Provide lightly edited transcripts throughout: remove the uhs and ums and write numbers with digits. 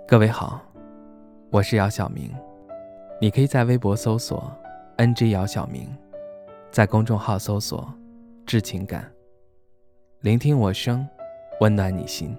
各位好，我是姚晓明，你可以在微博搜索 NG 姚晓明，在公众号搜索致情感，聆听我声，温暖你心。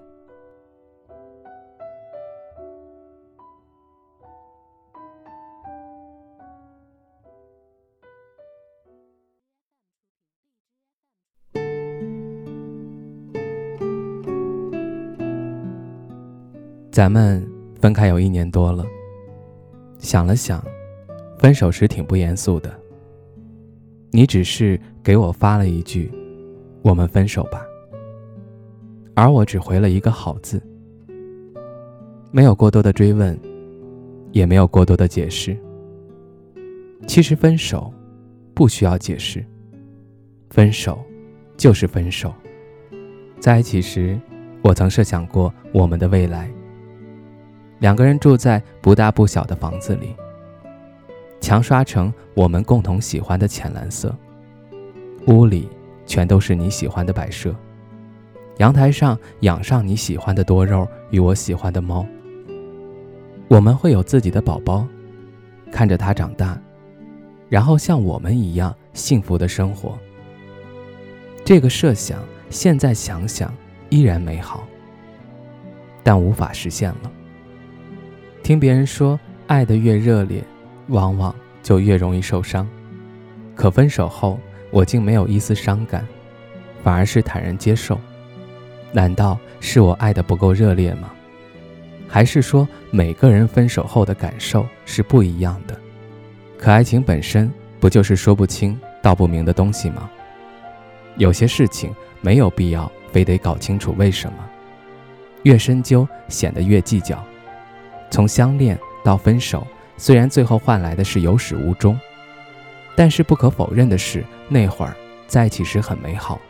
咱们分开有1年多了，想了想，分手时挺不严肃的。你只是给我发了一句我们分手吧，而我只回了一个好字，没有过多的追问，也没有过多的解释。其实分手不需要解释，分手就是分手。在一起时，我曾设想过我们的未来，两个人住在不大不小的房子里，墙刷成我们共同喜欢的浅蓝色，屋里全都是你喜欢的摆设，阳台上养上你喜欢的多肉与我喜欢的猫。我们会有自己的宝宝，看着他长大，然后像我们一样幸福的生活。这个设想现在想想依然美好，但无法实现了。听别人说，爱得越热烈，往往就越容易受伤。可分手后，我竟没有一丝伤感，反而是坦然接受。难道是我爱得不够热烈吗？还是说每个人分手后的感受是不一样的？可爱情本身不就是说不清道不明的东西吗？有些事情没有必要非得搞清楚为什么，越深究显得越计较。从相恋到分手，虽然最后换来的是有始无终，但是不可否认的是，那会儿在一起时很美好。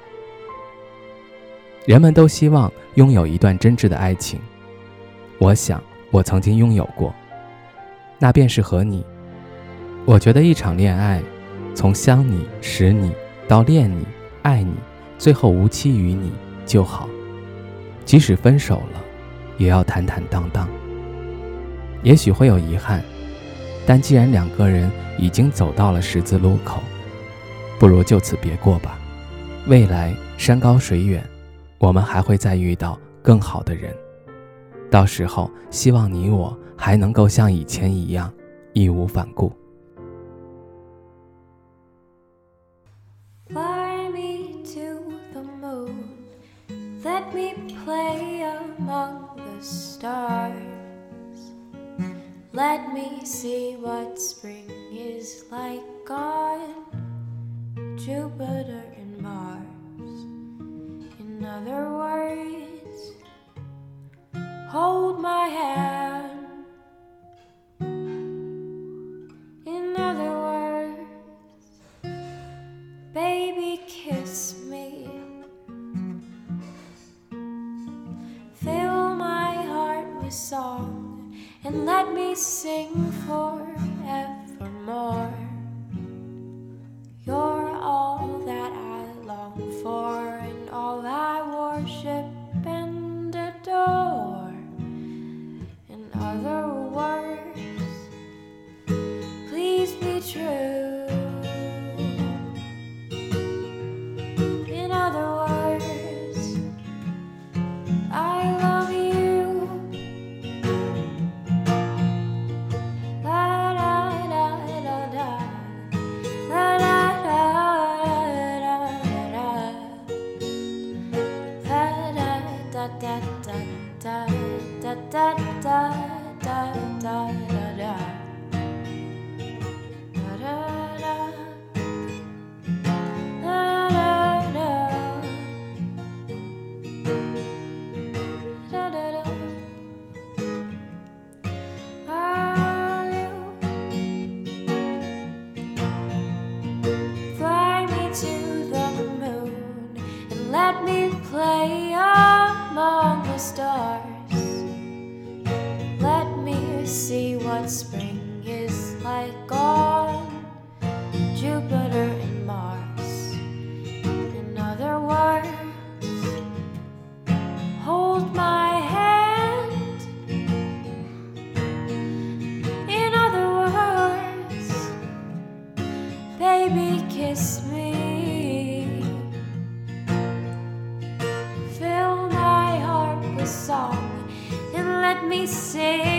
人们都希望拥有一段真挚的爱情，我想我曾经拥有过，那便是和你。我觉得一场恋爱，从相你、识你到恋你、爱你，最后无期于你就好。即使分手了，也要坦坦荡荡。也许会有遗憾，但既然两个人已经走到了十字路口，不如就此别过吧。未来山高水远，我们还会再遇到更好的人，到时候希望你我还能够像以前一样义无反顾。 Fly me to the moon, let me play among the stars. Let me see what spring is like on Jupiter and Mars. In other words, hold my hand. In other words, baby, kiss me. Fill my heart with song and let me sing forevermore. You're all that I long for and all I worship and adore. In other words, please be true. In other words, I love you. Let me play among the stars. Let me see what spring is like on Jupiter and Mars. In other words, hold my hand. we say